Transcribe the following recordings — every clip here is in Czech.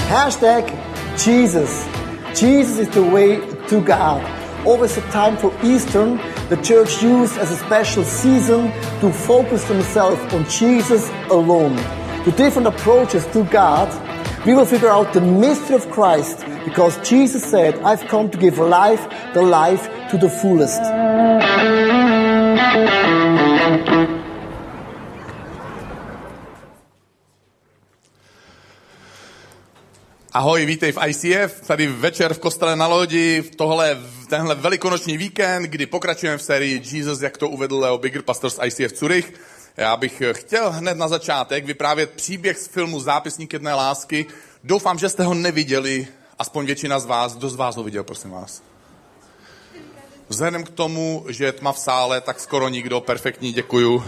Hashtag Jesus. Jesus is the way to God. Always a time for Easter, the church used as a special season to focus themselves on Jesus alone. The different approaches to God, we will figure out the mystery of Christ, because Jesus said, I've come to give life, the life to the fullest. Ahoj, vítej v ICF, tady večer v kostele na lodi, tenhle velikonoční víkend, kdy pokračujeme v sérii Jesus, jak to uvedl Leo Bigger, pastor z ICF Zurich. Já bych chtěl hned na začátek vyprávět příběh z filmu Zápisník jedné lásky. Doufám, že jste ho neviděli, aspoň většina z vás. Kdo z vás ho viděl, prosím vás? Vzhledem k tomu, že je tma v sále, tak skoro nikdo, perfektní, děkuju.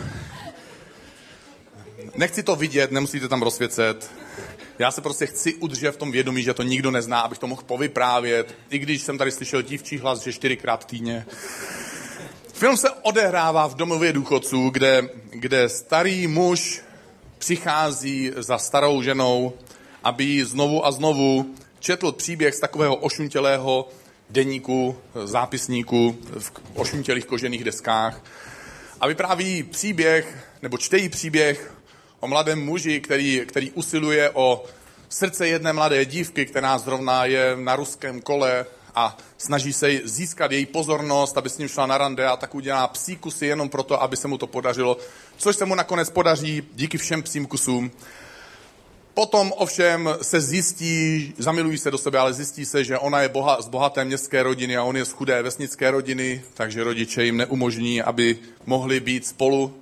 Nechci to vidět, nemusíte tam rozsvěcet. Já se prostě chci udržet v tom vědomí, že to nikdo nezná, abych to mohl povyprávět. I když jsem tady slyšel dívčí hlas, že 4krát týdně. Film se odehrává v domově důchodců, kde starý muž přichází za starou ženou, aby jí znovu a znovu četl příběh z takového ošuntělého deníku, zápisníku v ošuntělých kožených deskách. A vypráví příběh, nebo čtejí příběh o mladém muži, který usiluje o srdce jedné mladé dívky, která zrovna je na ruském kole a snaží se získat její pozornost, aby s ním šla na rande, a tak udělá psí kusy jenom proto, aby se mu to podařilo, což se mu nakonec podaří díky všem psím kusům. Potom ovšem se zjistí, zamilují se do sebe, ale zjistí se, že ona je z bohaté městské rodiny a on je z chudé vesnické rodiny, takže rodiče jim neumožní, aby mohli být spolu.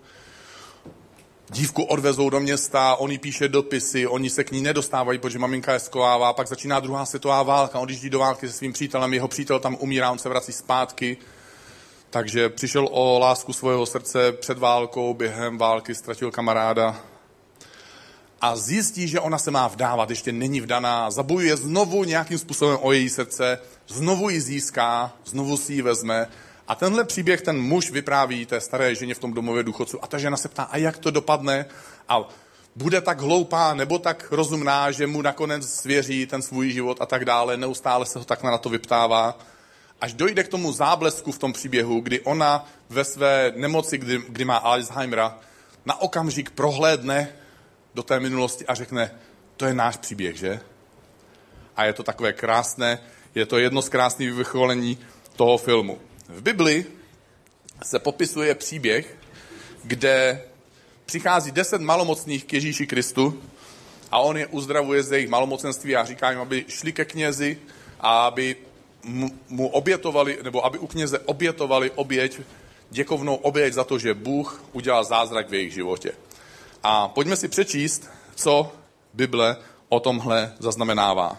Dívku odvezou do města, on jí píše dopisy, oni se k ní nedostávají, protože maminka je skovává, pak začíná druhá světová válka, on odjíždí do války se svým přítelem, jeho přítel tam umírá, on se vrací zpátky. Takže přišel o lásku svého srdce před válkou, během války ztratil kamaráda. A zjistí, že ona se má vdávat, ještě není vdaná, zabojuje znovu nějakým způsobem o její srdce, znovu ji získá, znovu si ji vezme. A tenhle příběh ten muž vypráví té staré ženě v tom domově důchodců. A ta žena se ptá, a jak to dopadne? A bude tak hloupá nebo tak rozumná, že mu nakonec svěří ten svůj život a tak dále. Neustále se ho takhle na to vyptává. Až dojde k tomu záblesku v tom příběhu, kdy ona ve své nemoci, kdy má Alzheimera, na okamžik prohlédne do té minulosti a řekne, to je náš příběh, že? A je to takové krásné, je to jedno z krásných vyvrcholení toho filmu. V Bibli se popisuje příběh, kde přichází 10 malomocných k Ježíši Kristu a on je uzdravuje z jejich malomocenství a říká jim, aby šli ke knězi a aby mu obětovali, nebo aby u kněze obětovali oběť, děkovnou oběť za to, že Bůh udělal zázrak v jejich životě. A pojďme si přečíst, co Bible o tomhle zaznamenává.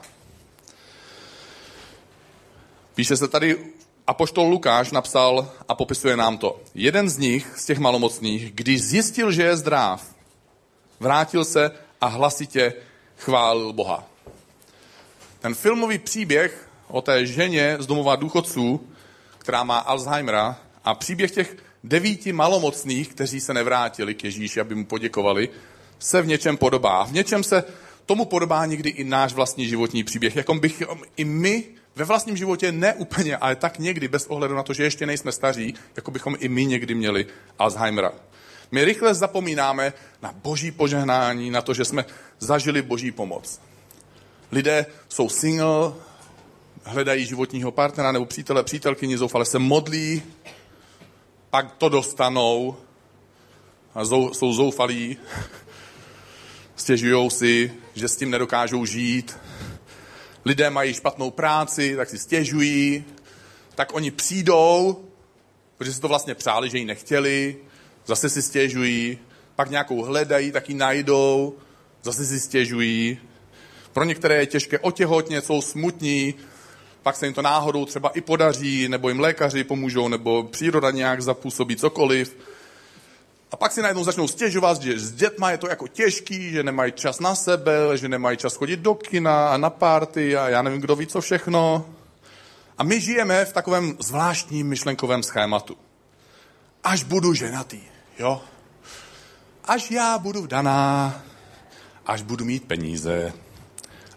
Píše se tady, apoštol Lukáš napsal a popisuje nám to. Jeden z nich, z těch malomocných, když zjistil, že je zdrav, vrátil se a hlasitě chválil Boha. Ten filmový příběh o té ženě z domova důchodců, která má Alzheimera, a příběh těch 9 malomocných, kteří se nevrátili k Ježíši, aby mu poděkovali, se v něčem podobá. V něčem se tomu podobá někdy i náš vlastní životní příběh, jako bychom i my ve vlastním životě ne úplně, ale tak někdy, bez ohledu na to, že ještě nejsme staří, jako bychom i my někdy měli Alzheimera. My rychle zapomínáme na boží požehnání, na to, že jsme zažili boží pomoc. Lidé jsou single, hledají životního partnera nebo přítele, přítelkyni, zoufale se modlí, pak to dostanou a jsou zoufalí, stěžujou si, že s tím nedokážou žít. Lidé mají špatnou práci, tak si stěžují, tak oni přijdou, protože si to vlastně přáli, že ji nechtěli, zase si stěžují, pak nějakou hledají, tak ji najdou, zase si stěžují. Pro některé je těžké otěhotnět, jsou smutní, pak se jim to náhodou třeba i podaří, nebo jim lékaři pomůžou, nebo příroda nějak zapůsobí cokoliv. A pak si najednou začnou stěžovat, že s dětma je to jako těžký, že nemají čas na sebe, že nemají čas chodit do kina a na party a já nevím, kdo ví co všechno. A my žijeme v takovém zvláštním myšlenkovém schématu. Až budu ženatý, jo? Až já budu vdaná, až budu mít peníze,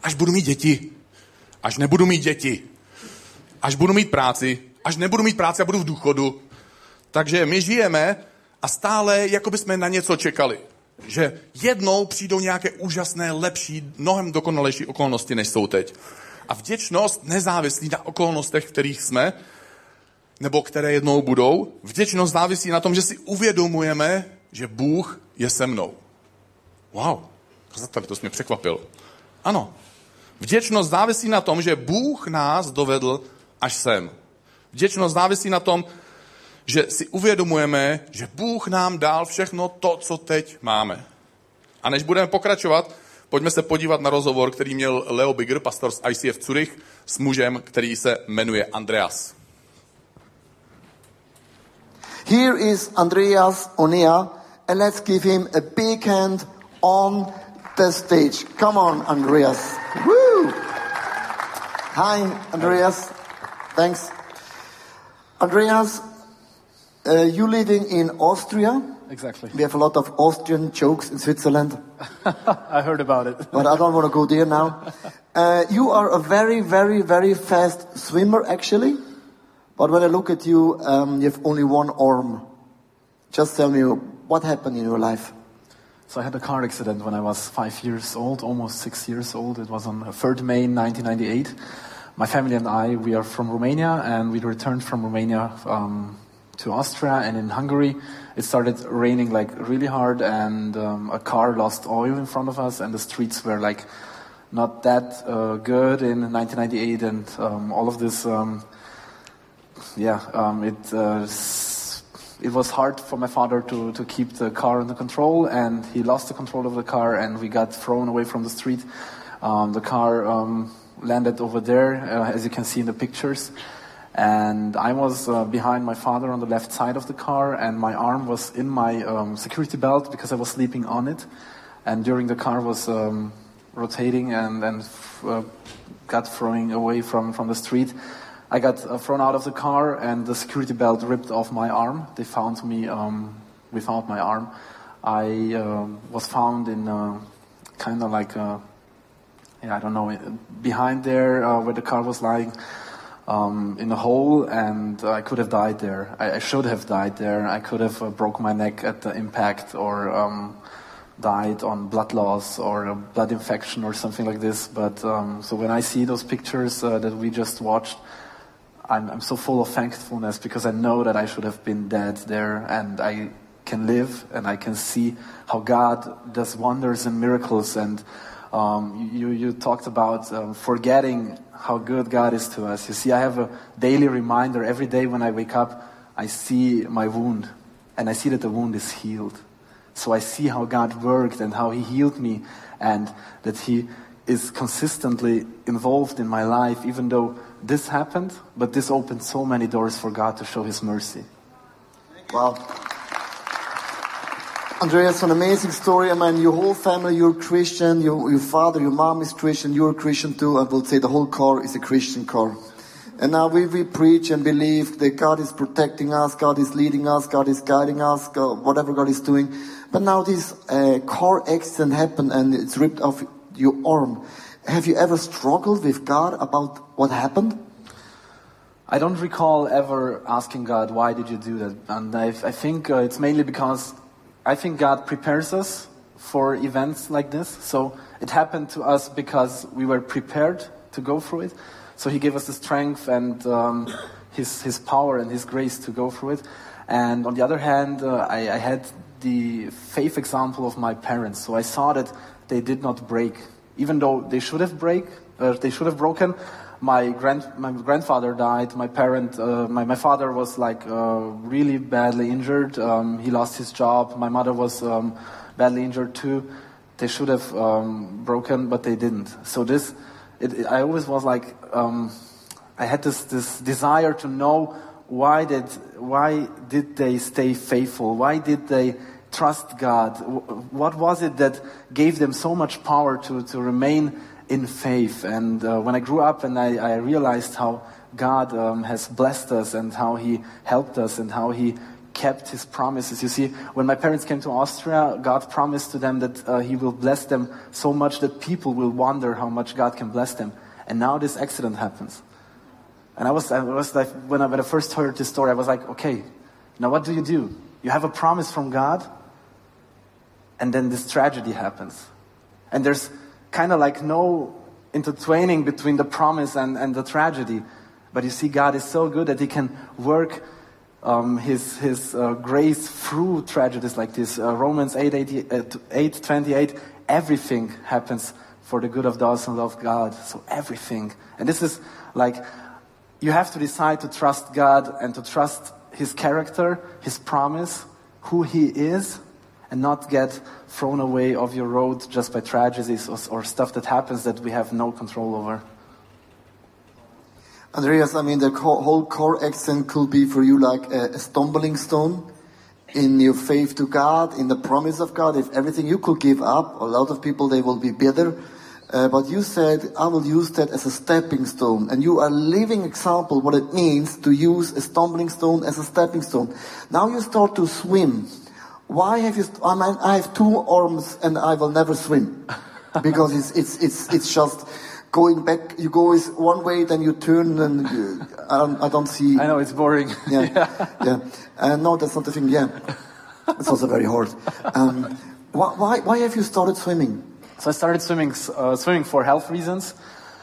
až budu mít děti, až nebudu mít děti, až budu mít práci, až nebudu mít práci a budu v důchodu. Takže my žijeme a stále jako bychom na něco čekali. Že jednou přijdou nějaké úžasné, lepší, mnohem dokonalejší okolnosti, než jsou teď. A vděčnost nezávislí na okolnostech, v kterých jsme, nebo které jednou budou. Vděčnost závisí na tom, že si uvědomujeme, že Bůh je se mnou. Wow, tady to jsi mě překvapil. Ano, vděčnost závisí na tom, že Bůh nás dovedl až sem. Vděčnost závisí na tom, že si uvědomujeme, že Bůh nám dal všechno to, co teď máme. A než budeme pokračovat, pojďme se podívat na rozhovor, který měl Leo Bigger, pastor z ICF Zurich, s mužem, který se jmenuje Andreas. Here is Andreas Onea, and let's give him a big hand on the stage. Come on, Andreas. Woo! Hi, Andreas. Thanks. Andreas, you living in Austria? Exactly. We have a lot of Austrian jokes in Switzerland. I heard about it. But I don't want to go there now. You are a very, very, very fast swimmer, actually. But when I look at you, you have only one arm. Just tell me, what happened in your life? So I had a car accident when I was 5 years old, almost 6 years old. It was on 3rd May 1998. My family and I, we are from Romania, and we returned from Romania to Austria. And in Hungary, it started raining like really hard, and a car lost oil in front of us, and the streets were like not that good in 1998, and all of this. It was hard for my father to keep the car under control, and he lost the control of the car, and we got thrown away from the street. The car landed over there, as you can see in the pictures, and I was behind my father on the left side of the car, and my arm was in my security belt because I was sleeping on it, and during the car was rotating and got thrown away from the street. I got thrown out of the car, and the security belt ripped off my arm. They found me without my arm. I was found in kind of like, behind there where the car was lying, in a hole, and I could have died there. I should have died there. I could have broke my neck at the impact, or died on blood loss or a blood infection or something like this. But so when I see those pictures that we just watched, I'm so full of thankfulness, because I know that I should have been dead there, and I can live and I can see how God does wonders and miracles. And you talked about forgetting how good God is to us. You see, I have a daily reminder every day when I wake up. I see my wound, and I see that the wound is healed. So I see how God worked and how He healed me, and that He is consistently involved in my life, even though this happened, but this opened so many doors for God to show His mercy. Wow. Andreas, an amazing story. I mean, your whole family, you're Christian, your father, your mom is Christian, you're a Christian too. I will say the whole car is a Christian car. And now we preach and believe that God is protecting us, God is leading us, God is guiding us, whatever God is doing. But now this car accident happened and it's ripped off your arm. Have you ever struggled with God about what happened? I don't recall ever asking God, why did you do that? And I think it's mainly because I think God prepares us for events like this. So it happened to us because we were prepared to go through it. So He gave us the strength and His power and His grace to go through it. And on the other hand, I had the faith example of my parents. So I saw that they did not break. Even though they should have broken. My grandfather died. My father was like really badly injured. He lost his job. My mother was badly injured too. They should have broken, but they didn't. So I always was like, I had this desire to know why did they stay faithful? Why did they trust God? What was it that gave them so much power to remain in faith? And when I grew up and I realized how God has blessed us and how He helped us and how He kept his promises. You see, when my parents came to Austria, God promised to them that he will bless them so much that people will wonder how much God can bless them. And now this accident happens. And I was like, when I first heard this story, I was like, okay, now what do? You have a promise from God, and then this tragedy happens. And there's kind of like no intertwining between the promise and the tragedy. But you see, God is so good that he can work his grace through tragedies like this. Romans 8:28, everything happens for the good of those who love God. So everything. And this is like, you have to decide to trust God and to trust his character, his promise, who he is, and not get thrown away off your road just by tragedies or stuff that happens that we have no control over. Andreas, I mean, the whole core accent could be for you like a stumbling stone in your faith to God, in the promise of God. If everything you could give up, a lot of people, they will be bitter. But you said, I will use that as a stepping stone. And you are a living example what it means to use a stumbling stone as a stepping stone. Now you start to swim. Why have you, I have 2 arms and I will never swim. Because it's just going back, you go one way, then you turn, and I don't see. I know, it's boring. Yeah. No, that's not the thing. Yeah, it's also very hard. Why have you started swimming? So I started swimming for health reasons.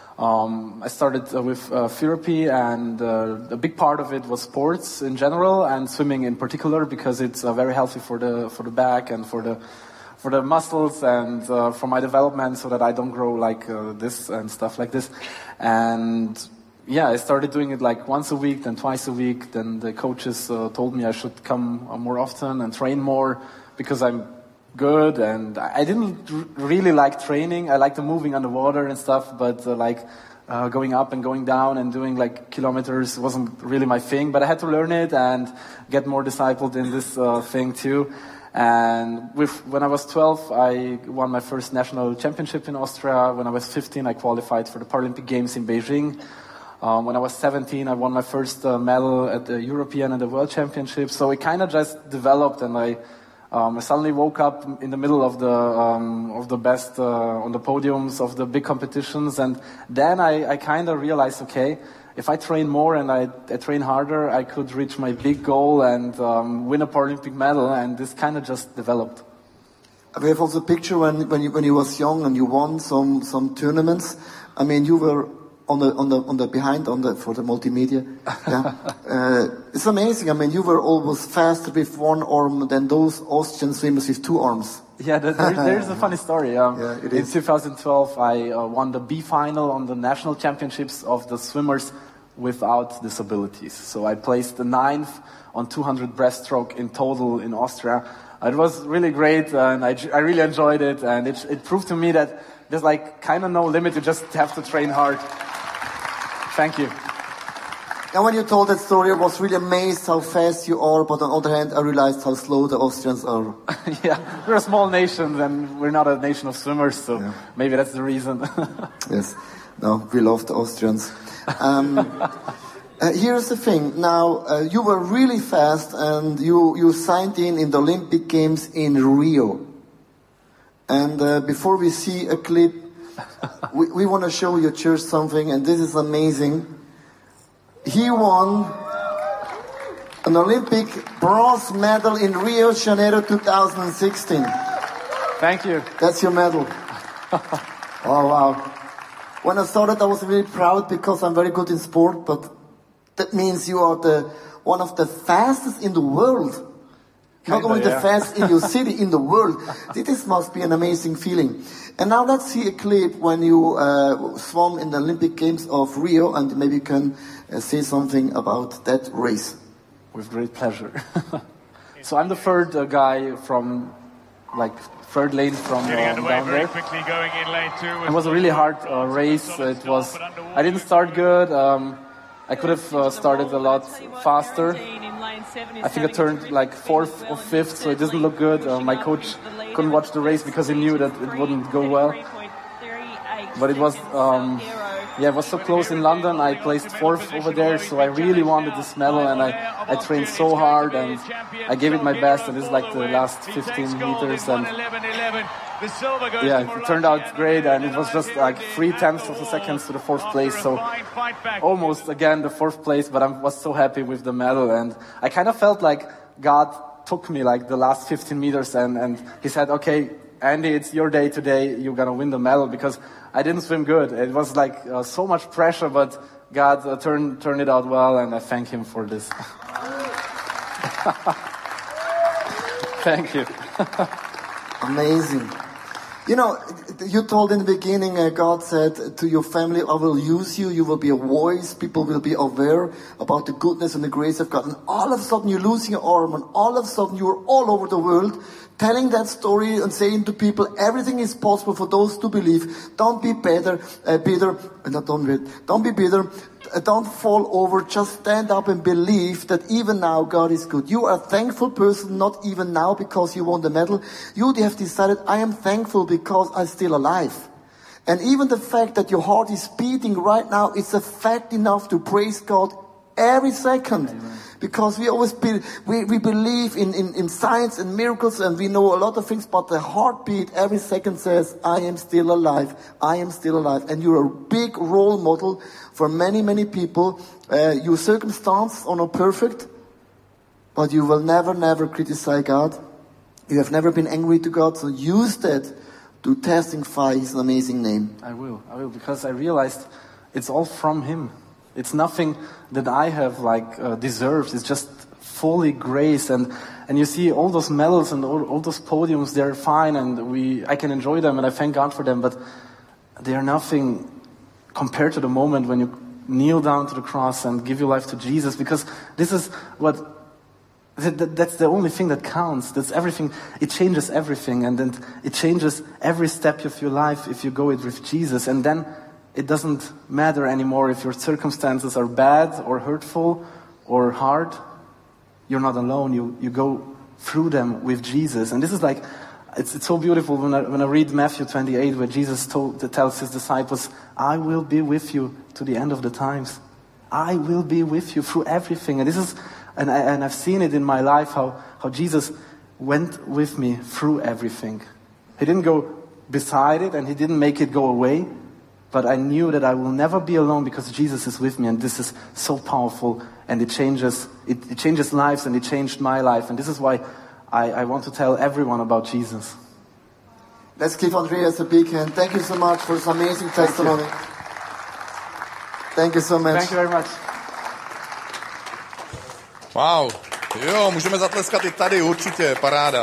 I started with therapy, and a big part of it was sports in general, and swimming in particular, because it's very healthy for the back and for the muscles and for my development, so that I don't grow like this and stuff like this. And yeah, I started doing it like once a week, then twice a week. Then the coaches told me I should come more often and train more, because I'm good. And I didn't really like training. I liked the moving underwater and stuff, but going up and going down and doing like kilometers wasn't really my thing. But I had to learn it and get more discipled in this thing too. And when I was 12, I won my first national championship in Austria. When I was 15, I qualified for the Paralympic Games in Beijing. When I was 17, I won my first medal at the European and the World Championships. So it kind of just developed, and I suddenly woke up in the middle of the best on the podiums of the big competitions. And then I kind of realized, okay, if I train more and I train harder, I could reach my big goal and win a Paralympic medal, and this kind of just developed. We have also a picture when you was young and you won some tournaments. I mean, you were on the behind for the multimedia. Yeah, it's amazing. I mean, you were always faster with 1 arm than those Austrian swimmers with 2 arms. Yeah, there's a funny story. In 2012, I won the B final on the national championships of the swimmers without disabilities. So I placed the 9th on 200 breaststroke in total in Austria. It was really great, and I really enjoyed it. And it proved to me that there's like kind of no limit. You just have to train hard. Thank you. And when you told that story, I was really amazed how fast you are, but on the other hand, I realized how slow the Austrians are. Yeah, we're a small nation, and we're not a nation of swimmers, so maybe that's the reason. Yes, no, we love the Austrians. Here's the thing. Now, you were really fast, and you signed in the Olympic Games in Rio. And before we see a clip, we want to show your church something, and this is amazing. He won an Olympic bronze medal in Rio de Janeiro 2016. Thank you. That's your medal. Oh, wow. When I saw that, I was really proud, because I'm very good in sport, but that means you are one of the fastest in the world. Not only the fastest in your city, in the world. This must be an amazing feeling. And now let's see a clip when you swam in the Olympic Games of Rio, and maybe you can say something about that race. With great pleasure. So I'm the third guy from, third lane from down there. Quickly going in lane 2. It was a really hard race. I didn't start good. I could have started a lot faster. I think I turned 4th or 5th, so it doesn't look good. My coach couldn't watch the race because he knew that it wouldn't go well. But it was it was so close in London. I placed 4th over there, so I really wanted this medal, and I trained so hard, and I gave it my best, and this is like the last 15 meters, and it turned out great, and it was just like 0.3 of a second to the 4th place, so almost again the 4th place, but I was so happy with the medal, and I kind of felt like God took me like the last 15 meters and he said, okay, Andy, it's your day today, you're gonna win the medal, because I didn't swim good. It was like so much pressure, but God turned it out well, and I thank him for this. Thank you. Amazing. You know, you told in the beginning, God said to your family, I will use you, you will be a voice, people will be aware about the goodness and the grace of God. And all of a sudden you're losing your arm, and all of a sudden you're all over the world telling that story and saying to people, everything is possible for those who believe. Don't be bitter. Don't be bitter. Don't fall over. Just stand up and believe that even now God is good. You are a thankful person, not even now because you won the medal. You have decided, I am thankful because I'm still alive. And even the fact that your heart is beating right now, it's a fact enough to praise God every second. Amen. Because we always we believe in science and miracles, and we know a lot of things, but the heartbeat every second says, I am still alive. I am still alive. And you're a big role model for many, many people. Your circumstances are not perfect, but you will never, never criticize God. You have never been angry to God, so use that to testify His amazing name. I will, because I realized it's all from Him. It's nothing that I have deserved. It's just fully grace, and you see all those medals and all those podiums. They're fine, and I can enjoy them, and I thank God for them. But they are nothing compared to the moment when you kneel down to the cross and give your life to Jesus. Because this is that's the only thing that counts. That's everything. It changes everything, and then it changes every step of your life if you go it with Jesus, and then it doesn't matter anymore if your circumstances are bad or hurtful or hard. You're not alone. You go through them with Jesus. And this is like, it's so beautiful when I read Matthew 28, where Jesus tells his disciples, I will be with you to the end of the times. I will be with you through everything. And this is, and I've seen it in my life, how Jesus went with me through everything. He didn't go beside it, and he didn't make it go away. But I knew that I will never be alone because Jesus is with me, and this is so powerful, and it changes lives, and it changed my life, and this is why I want to tell everyone about Jesus. Let's give Andreas a big hand. Thank you so much for this amazing testimony. Thank you so much. Thank you very much. Wow. Jo, můžeme zatleskat i tady, určitě, paráda.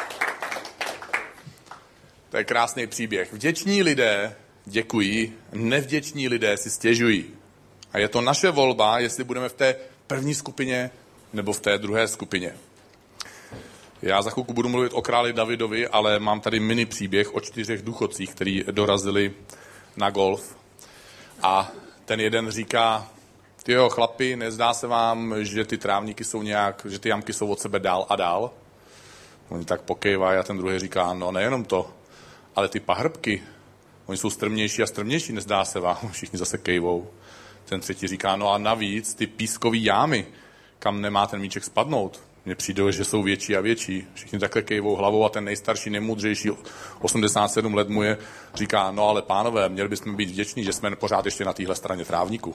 To je krásný příběh. Vděční lidé děkují, nevděční lidé si stěžují. A je to naše volba, jestli budeme v té první skupině nebo v té druhé skupině. Já za chvilku budu mluvit o králi Davidovi, ale mám tady mini příběh o 4 důchodcích, kteří dorazili na golf. A ten jeden říká, tyjo, chlapi, nezdá se vám, že ty trávníky jsou nějak, že ty jamky jsou od sebe dál a dál? Oni tak pokejvají a ten druhý říká, no nejenom to, ale ty pahrbky, oni jsou strmnější a strmnější, nezdá se vám, všichni zase kejvou. Ten třetí říká, no a navíc ty pískový jámy, kam nemá ten míček spadnout, mně přijde, že jsou větší a větší. Všichni takhle kejvou hlavou a ten nejstarší, nejmoudřejší, 87 let mu je, říká, no ale pánové, měli bychom být vděční, že jsme pořád ještě na téhle straně trávníku.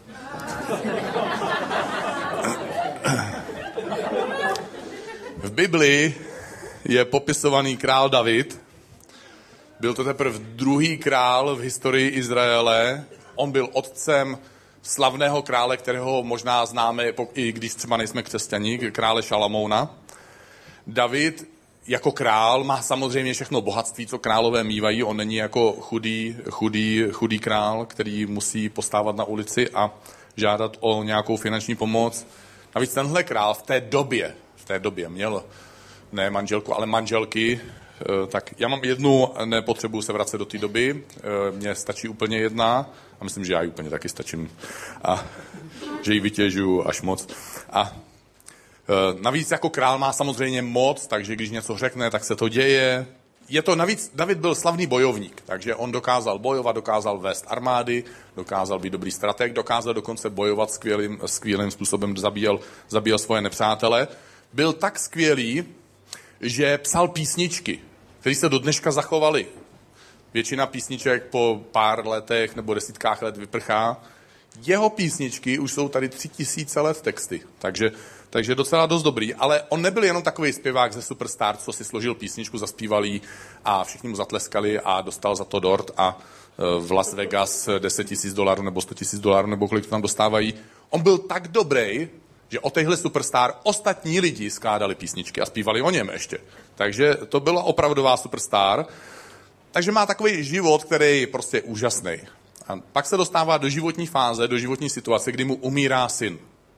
V Biblii je popisovaný král David. Byl to teprve druhý král v historii Izraele. On byl otcem slavného krále, kterého možná známe, i když třeba nejsme křesťaní, krále Šalamouna. David jako král má samozřejmě všechno bohatství, co králové mívají. On není jako chudý král, který musí postávat na ulici a žádat o nějakou finanční pomoc. Navíc tenhle král v té době měl ne manželku, ale manželky. Tak já mám jednu, nepotřebuji se vracet do té doby, mně stačí úplně jedna a myslím, že já ji úplně taky stačím a že ji vytěžuju až moc. A navíc jako král má samozřejmě moc, takže když něco řekne, tak se to děje. navíc David byl slavný bojovník, takže on dokázal bojovat, dokázal vést armády, dokázal být dobrý strateg, dokázal dokonce bojovat skvělým způsobem, zabíjel svoje nepřátele. Byl tak skvělý, že psal písničky, které se do dneška zachovaly. Většina písniček po pár letech nebo desítkách let vyprchá. Jeho písničky už jsou tady 3000 let texty, takže docela dost dobrý, ale on nebyl jenom takový zpěvák ze Superstar, co si složil písničku, zaspíval jí a všichni mu zatleskali a dostal za to dort a v Las Vegas $10,000 nebo $100,000 nebo kolik to tam dostávají. On byl tak dobrý, že o téhle Superstar ostatní lidi skládali písničky a zpívali o něm ještě. Takže to byla opravdová Superstar. Takže má takový život, který prostě je úžasný. A pak se dostává do životní fáze, do životní situace, kdy mu umírá syn.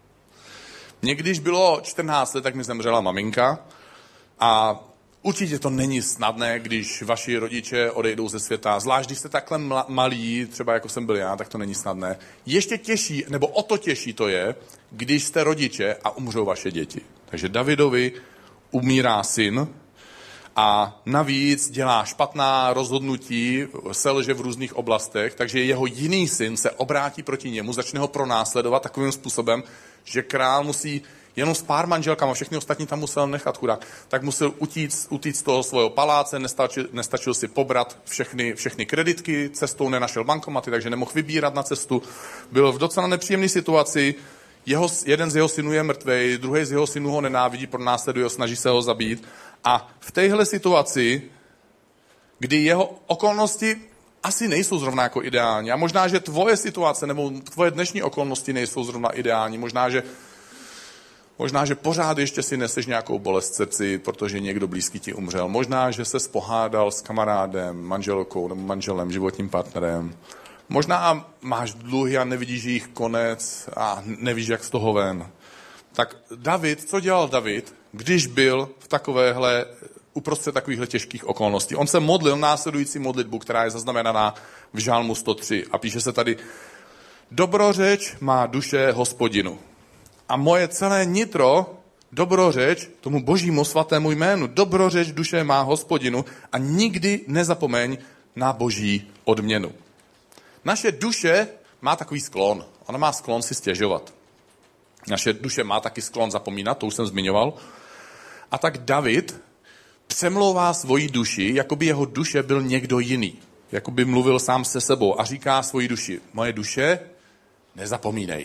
Mně když bylo 14 let, tak mi zemřela maminka a určitě to není snadné, když vaši rodiče odejdou ze světa, zvlášť když jste takhle malí, třeba jako jsem byl já, tak to není snadné. Ještě těžší, nebo o to těžší to je, když jste rodiče a umřou vaše děti. Takže Davidovi umírá syn a navíc dělá špatná rozhodnutí, selže v různých oblastech, takže jeho jiný syn se obrátí proti němu, začne ho pronásledovat takovým způsobem, že král musí jenom s pár manželkama, všechny ostatní tam musel nechat chudák, tak musel utíct z toho svého paláce, nestačil si pobrat všechny kreditky, cestou nenašel bankomaty, takže nemohl vybírat na cestu. Byl v docela nepříjemné situaci, jeden z jeho synů je mrtvej, druhý z jeho synů ho nenávidí, pronásleduje ho, snaží se ho zabít. A v téhle situaci, kdy jeho okolnosti asi nejsou zrovna jako ideální, a možná, že tvoje situace nebo tvoje dnešní okolnosti nejsou zrovna ideální, možná, že pořád ještě si neseš nějakou bolest v srdci, protože někdo blízký ti umřel. Možná, že ses pohádal s kamarádem, manželkou nebo manželem, životním partnerem. Možná máš dluhy a nevidíš jejich konec a nevíš, jak z toho ven. Tak David, co dělal David, když byl v uprostřed takovýchhle těžkých okolností? On se modlil následující modlitbu, která je zaznamenaná v Žalmu 103 a píše se tady: Dobrořeč má duše Hospodinu a moje celé nitro dobrořeč tomu božímu svatému jménu. Dobrořeč duše má Hospodinu a nikdy nezapomeň na boží odměnu. Naše duše má takový sklon. Ona má sklon si stěžovat. Naše duše má taky sklon zapomínat, to už jsem zmiňoval. A tak David přemlouvá svoji duši, jako by jeho duše byl někdo jiný. Jako by mluvil sám se sebou a říká svoji duši: moje duše, nezapomínej.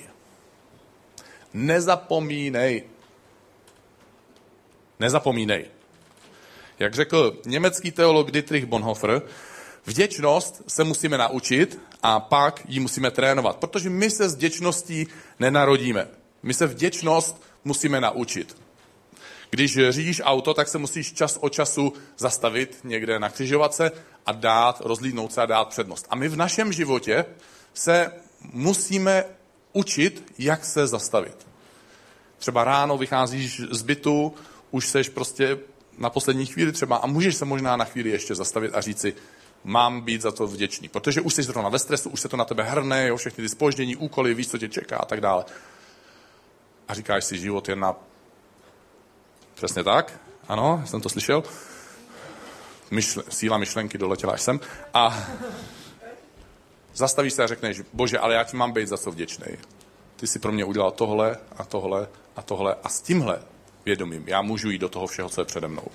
Nezapomínej. Nezapomínej. Jak řekl německý teolog Dietrich Bonhoeffer, vděčnost se musíme naučit a pak ji musíme trénovat, protože my se s vděčností nenarodíme. My se vděčnost musíme naučit. Když řídíš auto, tak se musíš čas od času zastavit někde na křižovatce a rozhlídnout se a dát přednost. A my v našem životě se musíme učit, jak se zastavit. Třeba ráno vycházíš z bytu, už seš prostě na poslední chvíli třeba a můžeš se možná na chvíli ještě zastavit a říct si: mám být za to vděčný, protože už jsi zrovna ve stresu, už se to na tebe hrne, jo, všechny ty zpoždění, úkoly, víš, co tě čeká a tak dále. A říkáš si, život je na... Přesně tak, ano, jsem to slyšel. Síla myšlenky doletěla až sem. A zastavíš se a řekneš: Bože, ale já ti mám být za co vděčnej. Ty jsi pro mě udělal tohle a tohle a tohle a s tímhle vědomím já můžu jít do toho všeho, co je přede mnou.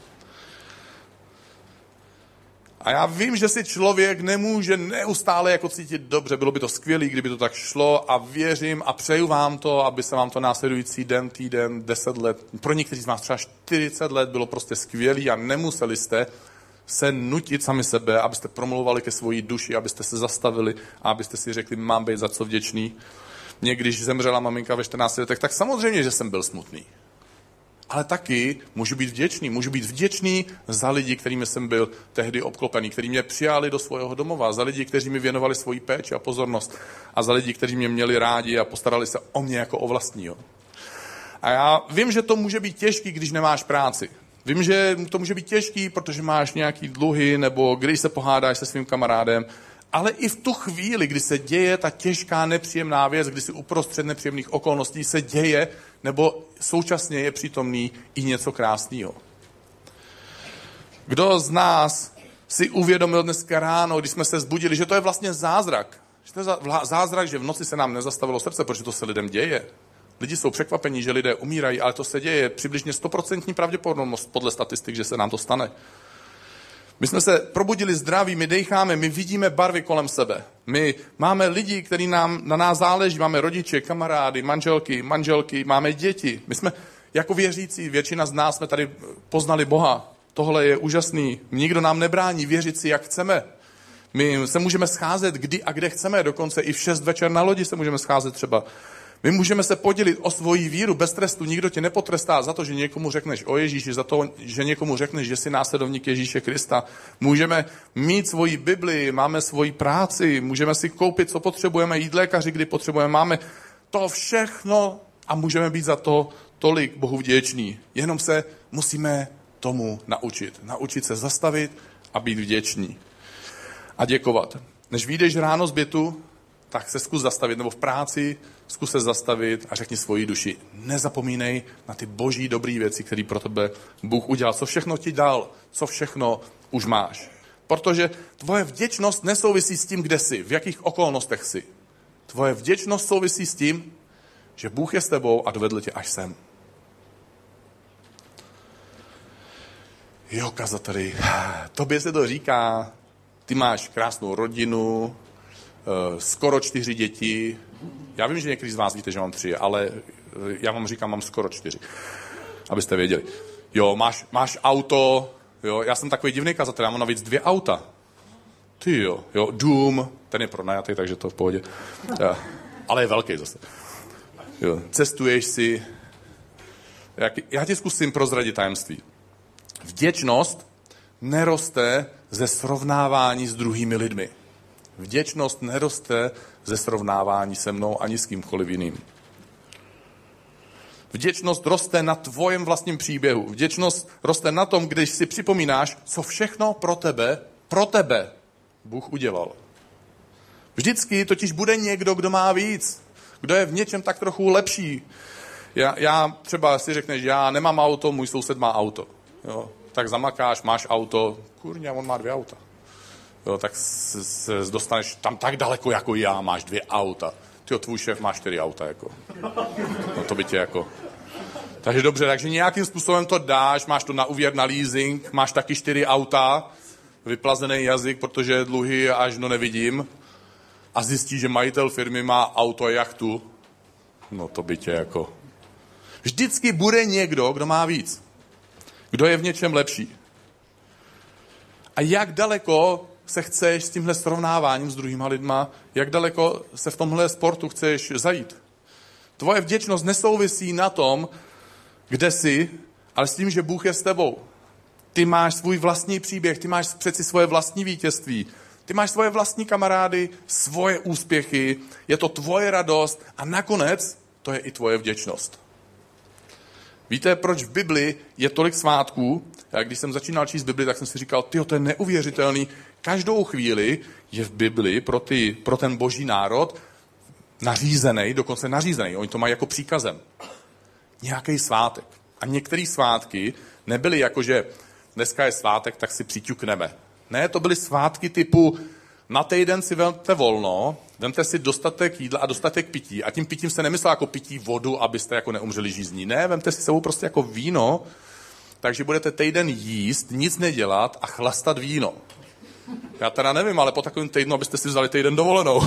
A já vím, že si člověk nemůže neustále jako cítit dobře. Bylo by to skvělé, kdyby to tak šlo, a věřím a přeju vám to, aby se vám to následující den, týden, 10 let, pro někteří z vás třeba 40 let bylo prostě skvělý a nemuseli jste se nutit sami sebe, abyste promlouvali ke svojí duši, abyste se zastavili a abyste si řekli: mám být za co vděčný. Mně, když zemřela maminka ve 14 letech, tak samozřejmě, že jsem byl smutný. Ale taky můžu být vděčný za lidi, kterými jsem byl tehdy obklopený, kteří mě přijali do svého domova, za lidi, kteří mi věnovali svoji péči a pozornost a za lidi, kteří mě měli rádi a postarali se o mě jako o vlastního. A já vím, že to může být těžký, když nemáš práci. Vím, že to může být těžký, protože máš nějaký dluhy nebo když se pohádáš se svým kamarádem, ale i v tu chvíli, kdy se děje ta těžká, nepříjemná věc, kdy si uprostřed nepříjemných okolností se děje, nebo současně je přítomný i něco krásného. Kdo z nás si uvědomil dneska ráno, když jsme se zbudili, že to je vlastně zázrak. Že to je zázrak, že v noci se nám nezastavilo srdce, protože to se lidem děje. Lidi jsou překvapení, že lidé umírají, ale to se děje. Přibližně 100% pravděpodobnost podle statistik, že se nám to stane. My jsme se probudili zdraví, my dejcháme, my vidíme barvy kolem sebe. My máme lidi, kteří na nás záleží, máme rodiče, kamarády, manželky, máme děti. My jsme jako věřící, většina z nás jsme tady poznali Boha. Tohle je úžasný. Nikdo nám nebrání věřit si, jak chceme. My se můžeme scházet kdy a kde chceme, dokonce i v 6 večer na lodi se můžeme scházet třeba. My můžeme se podělit o svoji víru bez trestu, nikdo tě nepotrestá za to, že někomu řekneš o Ježíši, za to, že někomu řekneš, že jsi následovník Ježíše Krista. Můžeme mít svoji Bibli, máme svoji práci, můžeme si koupit, co potřebujeme, jít lékaři, kdy potřebujeme, máme to všechno a můžeme být za to tolik Bohu vděční. Jenom se musíme tomu naučit. Naučit se zastavit a být vděční. A děkovat. Než vyjdeš ráno z bytu, tak se zkus zastavit, nebo v práci zkus se zastavit a řekni svoji duši. Nezapomínej na ty boží dobrý věci, které pro tebe Bůh udělal. Co všechno ti dal, co všechno už máš. Protože tvoje vděčnost nesouvisí s tím, kde jsi, v jakých okolnostech jsi. Tvoje vděčnost souvisí s tím, že Bůh je s tebou a dovedl tě až sem. Jo, kazateli, tobě se to říká, ty máš krásnou rodinu, skoro 4 děti. Já vím, že někteří z vás víte, že mám 3, ale já vám říkám, mám skoro 4. Abyste věděli. Jo, máš auto, jo, já jsem takový divný kazatel, já mám navíc 2 auta. Ty jo, dům, ten je pronajatý, takže to v pohodě. Ja, ale je velký zase. Jo, cestuješ si. Já ti zkusím prozradit tajemství. Vděčnost neroste ze srovnávání s druhými lidmi. Vděčnost neroste ze srovnávání se mnou ani s kýmkoliv jiným. Vděčnost roste na tvojem vlastním příběhu. Vděčnost roste na tom, když si připomínáš, co všechno pro tebe Bůh udělal. Vždycky totiž bude někdo, kdo má víc, kdo je v něčem tak trochu lepší. Já třeba si řekneš, já nemám auto, můj soused má auto. Jo, tak zamakáš, máš auto, kurňa, on má 2 auta. Jo, tak se dostaneš tam tak daleko jako já, máš 2 auta. Tyjo, tvůj šéf má 4 auta, jako. No to by tě jako... Takže dobře, takže nějakým způsobem to dáš, máš to na úvěr, na leasing, máš taky 4 auta, vyplazený jazyk, protože dluhy až nevidím a zjistíš, že majitel firmy má auto a jachtu. No to by tě jako... Vždycky bude někdo, kdo má víc. Kdo je v něčem lepší. A jak daleko se chceš s tímhle srovnáváním s druhýma lidma, jak daleko se v tomhle sportu chceš zajít. Tvoje vděčnost nesouvisí na tom, kde jsi, ale s tím, že Bůh je s tebou. Ty máš svůj vlastní příběh, ty máš přeci svoje vlastní vítězství, ty máš svoje vlastní kamarády, svoje úspěchy, je to tvoje radost a nakonec to je i tvoje vděčnost. Víte, proč v Bibli je tolik svátků? Já když jsem začínal číst Bibli, tak jsem si říkal, tyjo, to je neuvěřitelný. Každou chvíli je v Bibli pro ten boží národ nařízený, dokonce nařízený. Oni to mají jako příkazem. Nějaký svátek. A některé svátky nebyly jako, že dneska je svátek, tak si přiťukneme. Ne, to byly svátky typu na týden si vemte volno, vemte si dostatek jídla a dostatek pití. A tím pitím se nemyslel jako pití vodu, abyste jako neumřeli žízní. Ne, vemte si sebou prostě jako víno, takže budete týden jíst, nic nedělat a chlastat víno. Já teda nevím, ale po takovém týdnu, abyste si vzali týden dovolenou.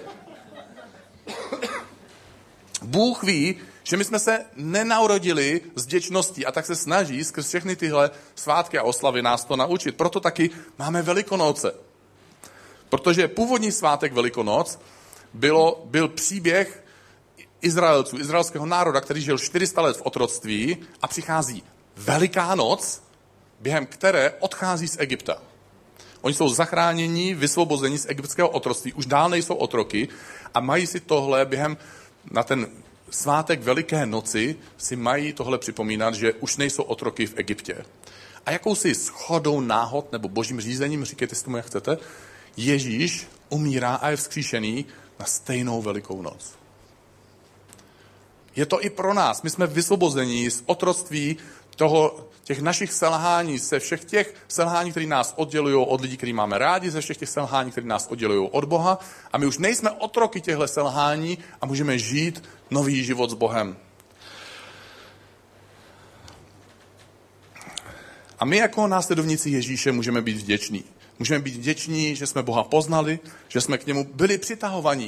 Bůh ví, že my jsme se nenarodili s vděčností a tak se snaží skrz všechny tyhle svátky a oslavy nás to naučit. Proto taky máme Velikonoce. Protože původní svátek Velikonoc byl příběh Izraelců, izraelského národa, který žil 400 let v otroctví a přichází Veliká noc, během které odchází z Egypta. Oni jsou zachráněni, vysvobozeni z egyptského otroctví, už dál nejsou otroky a mají si tohle na ten svátek Veliké noci si mají tohle připomínat, že už nejsou otroky v Egyptě. A jakousi shodou náhod nebo božím řízením, říkejte si tomu, jak chcete, Ježíš umírá a je vzkříšený na stejnou Velikou noc. Je to i pro nás. My jsme vysvobozeni z otroctví těch našich selhání, se všech těch selhání, které nás oddělují od lidí, který máme rádi, ze všech těch selhání, které nás oddělují od Boha. A my už nejsme otroky těchto selhání a můžeme žít nový život s Bohem. A my jako následovníci Ježíše můžeme být vděční. Můžeme být vděční, že jsme Boha poznali, že jsme k němu byli přitahovaní.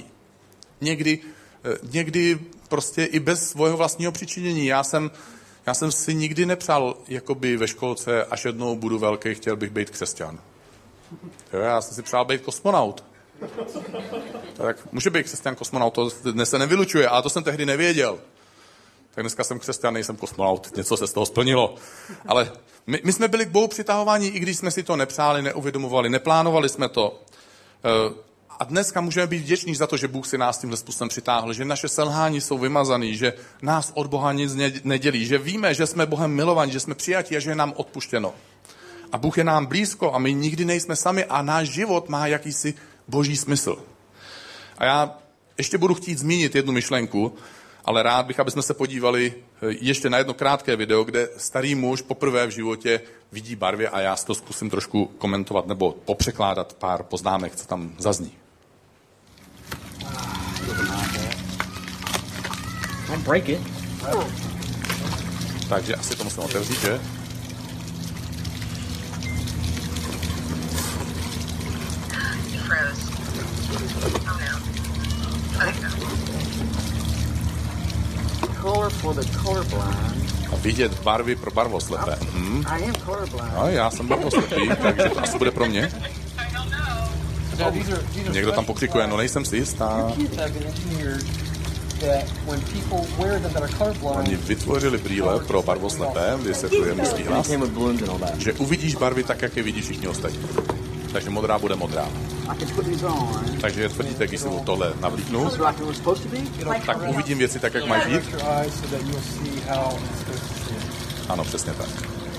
Někdy prostě i bez svého vlastního přičinění. Já jsem si nikdy nepřál, jakoby ve školce, až jednou budu velký, chtěl bych být křesťan. Já jsem si přál být kosmonaut. Tak může být křesťan kosmonaut, to dnes se nevylučuje, ale to jsem tehdy nevěděl. Tak dneska jsem křesťan, nejsem kosmonaut, něco se z toho splnilo. Ale my jsme byli k Bohu přitahováni, i když jsme si to nepřáli, neuvědomovali, neplánovali jsme to. A dneska můžeme být vděční za to, že Bůh si nás tímhle způsobem přitáhl, že naše selhání jsou vymazaný, že nás od Boha nic nedělí, že víme, že jsme Bohem milovaní, že jsme přijatí a že je nám odpuštěno. A Bůh je nám blízko a my nikdy nejsme sami a náš život má jakýsi boží smysl. A já ještě budu chtít zmínit jednu myšlenku, ale rád bych, abychom se podívali ještě na jedno krátké video, kde starý muž poprvé v životě vidí barvy a já si to zkusím trošku komentovat nebo popřekládat pár poznámek, co tam zazní. Don't break it. Takže asi to musím otevřít, že? Color for the colorblind. A vidět barvy pro barvoslepé. I am colorblind. No, já jsem barvoslepý, takže to asi bude pro mě. Někdo tam pokřikuje, no nejsem si jistá. Oni vytvořili brýle pro barvoslepé, vysvětluje mužský hlas, že uvidíš barvy tak, jak je vidíš všichni ostatní. Takže modrá bude modrá. Takže tvrdíte, když si tohle navlíknu, tak uvidím věci tak, jak mají být. Ano, přesně tak.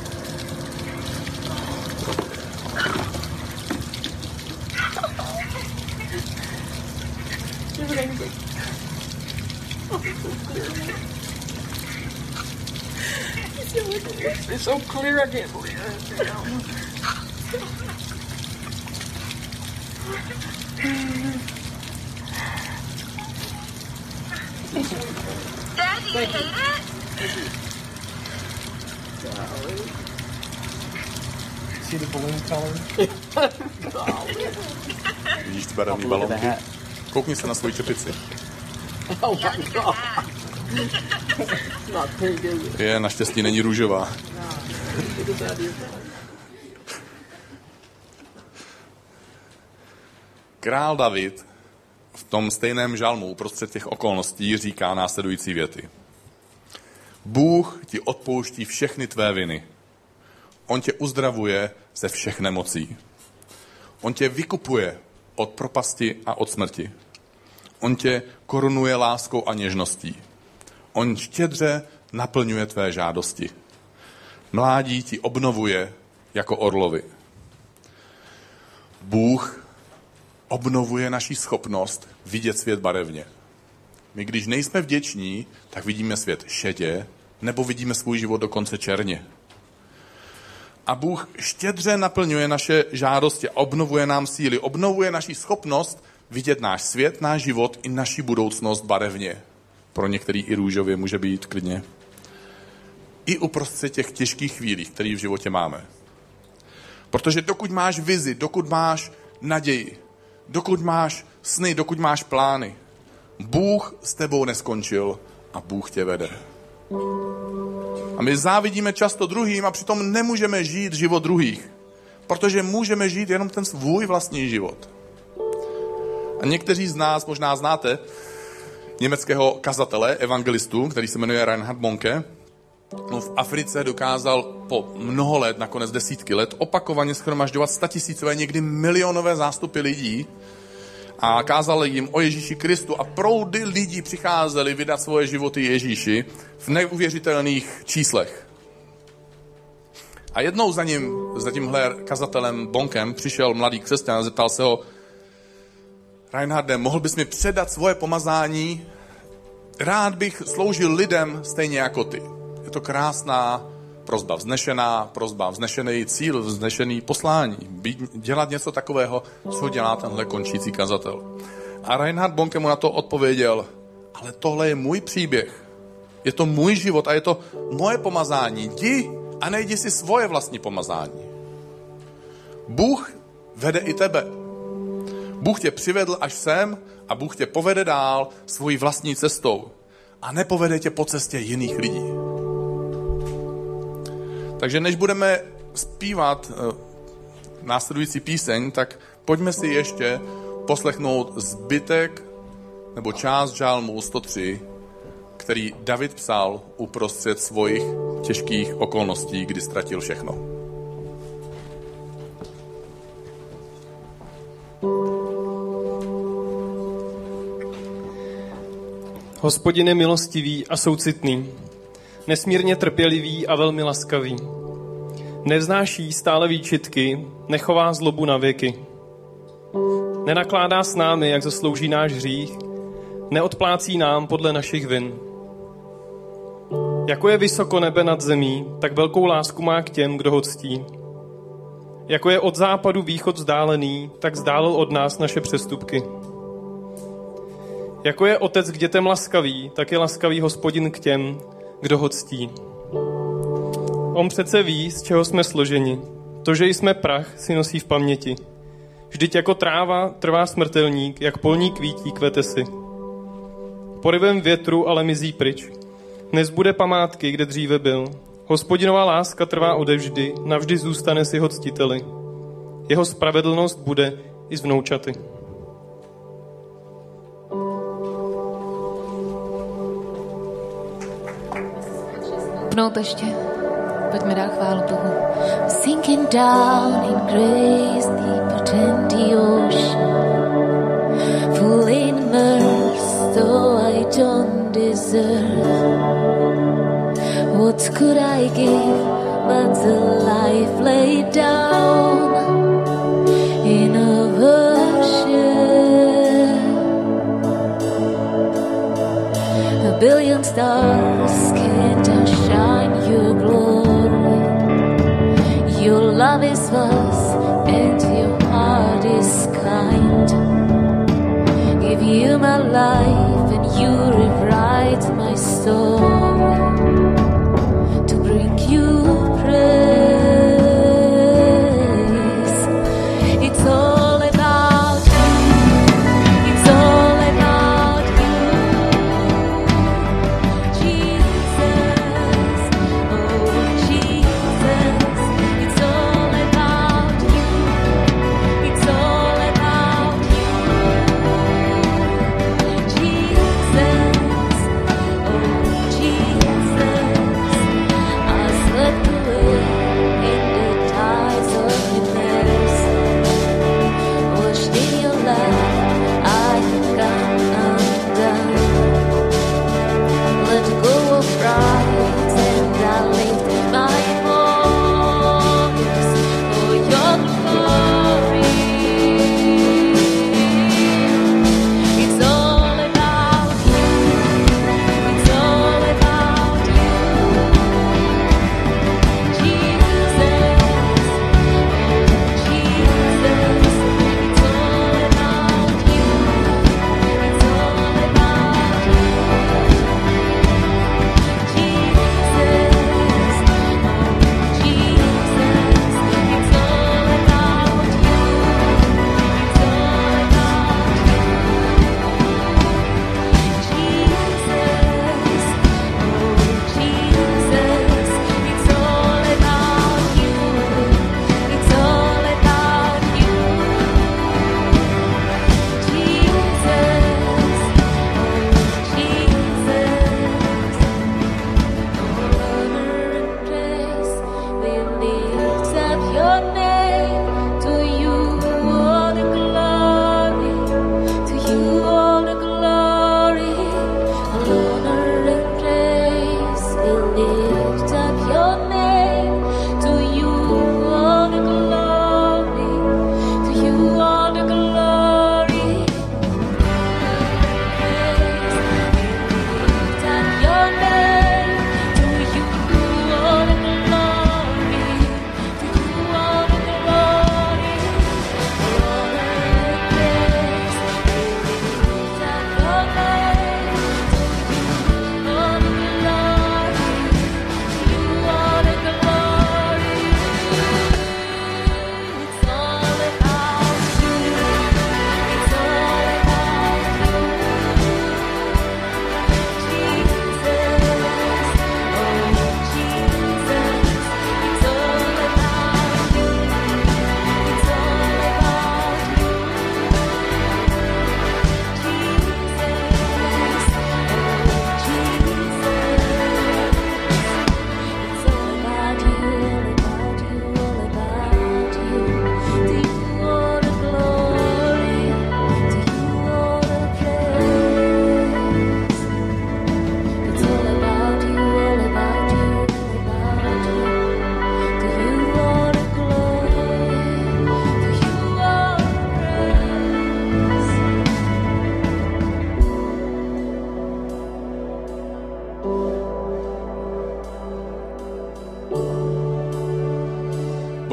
It's so clear, I can't believe it. Dad, do you hate it? See the balloon color? Vidíš ty barevný balónky? Koukni se na svoji čepici. Oh my God. Not pink, is it? Je, naštěstí není růžová. Král David v tom stejném žalmu uprostřed těch okolností říká následující věty. Bůh ti odpouští všechny tvé viny. On tě uzdravuje ze všech nemocí. On tě vykupuje od propasti a od smrti. On tě korunuje láskou a něžností. On štědře naplňuje tvé žádosti. Mládí ti obnovuje jako orlovi. Bůh obnovuje naši schopnost vidět svět barevně. My, když nejsme vděční, tak vidíme svět šedě, nebo vidíme svůj život dokonce černě. A Bůh štědře naplňuje naše žádosti, obnovuje nám síly, obnovuje naši schopnost vidět náš svět, náš život i naši budoucnost barevně. Pro některý i růžově může být klidně. I uprostřed těch těžkých chvílí, které v životě máme. Protože dokud máš vizi, dokud máš naději, dokud máš sny, dokud máš plány, Bůh s tebou neskončil a Bůh tě vede. A my závidíme často druhým a přitom nemůžeme žít život druhých, protože můžeme žít jenom ten svůj vlastní život. A někteří z nás možná znáte německého kazatele, evangelistu, který se jmenuje Reinhard Bonke. On v Africe dokázal po mnoho let, nakonec desítky let, opakovaně shromažďovat statisícové, někdy milionové zástupy lidí a kázal jim o Ježíši Kristu a proudy lidí přicházeli vydat svoje životy Ježíši v neuvěřitelných číslech. A jednou za tímhle kazatelem Bonkem přišel mladý křesťan a zeptal se ho: Reinharde, mohl bys mi předat svoje pomazání? Rád bych sloužil lidem stejně jako ty. Je to krásná prosba vznešená, prosba vznešený cíl, vznešený poslání. Dělat něco takového, co dělá tenhle končící kazatel. A Reinhard Bonke mu na to odpověděl, ale tohle je můj příběh. Je to můj život a je to moje pomazání. Jdi a najdi si svoje vlastní pomazání. Bůh vede i tebe. Bůh tě přivedl až sem a Bůh tě povede dál svojí vlastní cestou. A nepovede tě po cestě jiných lidí. Takže než budeme zpívat následující píseň, tak pojďme si ještě poslechnout zbytek nebo část žálmu 103, který David psal uprostřed svojich těžkých okolností, kdy ztratil všechno. Hospodin je milostivý a soucitný, nesmírně trpělivý a velmi laskavý. Nevznáší stále výčitky, nechová zlobu na věky. Nenakládá s námi, jak zaslouží náš hřích, neodplácí nám podle našich vin. Jako je vysoko nebe nad zemí, tak velkou lásku má k těm, kdo ho ctí. Jako je od západu východ vzdálený, tak vzdálil od nás naše přestupky. Jako je otec k dětem laskavý, tak je laskavý Hospodin k těm, kdo ho ctí. On přece ví, z čeho jsme složeni. To, že jsme prach, si nosí v paměti. Vždyť jako tráva trvá smrtelník, jak polní kvítí kvete si. Porivem větru ale mizí pryč. Nezbude památky, kde dříve byl. Hospodinová láska trvá odevždy, navždy zůstane s jeho ctiteli. Jeho spravedlnost bude i s vnoučaty. Ještě. Pojďme dát chválu Bohu. Sinking down in grace deeper than the ocean, full in mercy, though I don't deserve. What could I give but the life laid down in a worship? A billion stars can't outshine your glory. Your love is vast and your heart is kind. Give you my life and you rewrite my story to bring you praise. It's all about you. It's all about you, Jesus. Oh, Jesus. It's all about you. It's all about you, Jesus. Oh, Jesus.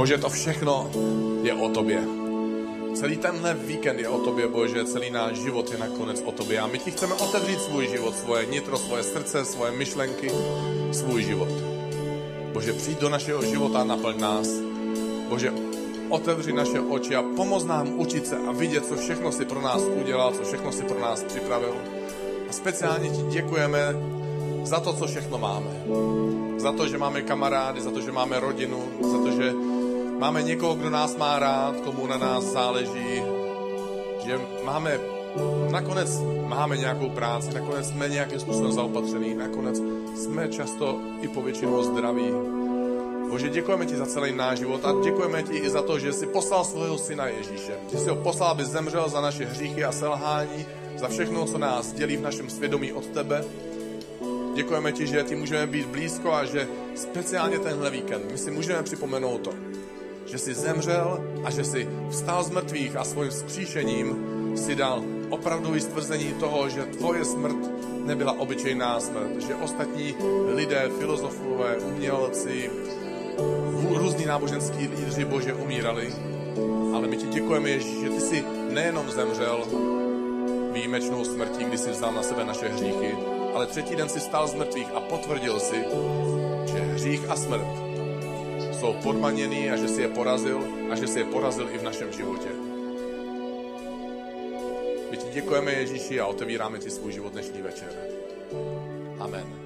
Bože, to všechno je o tobě. Celý tenhle víkend je o tobě, Bože, celý náš život je nakonec o tobě. A my ti chceme otevřít svůj život, svoje nitro, svoje srdce, svoje myšlenky, svůj život. Bože, přijď do našeho života a naplň nás. Bože, otevři naše oči a pomoz nám učit se a vidět, co všechno si pro nás udělal, co všechno si pro nás připravil. A speciálně ti děkujeme za to, co všechno máme. Za to, že máme kamarády, za to, že máme rodinu, za to, že máme někoho, kdo nás má rád, komu na nás záleží, že nakonec máme nějakou práci, nakonec jsme nějakým způsobem zaopatřený, nakonec jsme často i povětšinou zdraví. Bože, děkujeme ti za celý náš život a děkujeme ti i za to, že jsi poslal svého syna Ježíše. Že jsi ho poslal, aby zemřel za naše hříchy a selhání, za všechno, co nás dělí v našem svědomí od tebe. Děkujeme ti, že ti můžeme být blízko a že speciálně tenhle víkend my si můžeme připomenout to, že jsi zemřel a že jsi vstal z mrtvých a svým vzkříšením si dal opravdový stvrzení toho, že tvoje smrt nebyla obyčejná smrt, že ostatní lidé, filozofové, umělci, různí náboženský lídři, Bože, umírali. Ale my ti děkujeme, Ježíš, že ty jsi nejenom zemřel výjimečnou smrtí, kdy jsi vzal na sebe naše hříchy, ale třetí den si stál z mrtvých a potvrdil si, že hřích a smrt jsou podmaněný a že si je porazil a že si je porazil i v našem životě. My ti děkujeme, Ježíši, a otevíráme ti svůj život dnešní večer. Amen.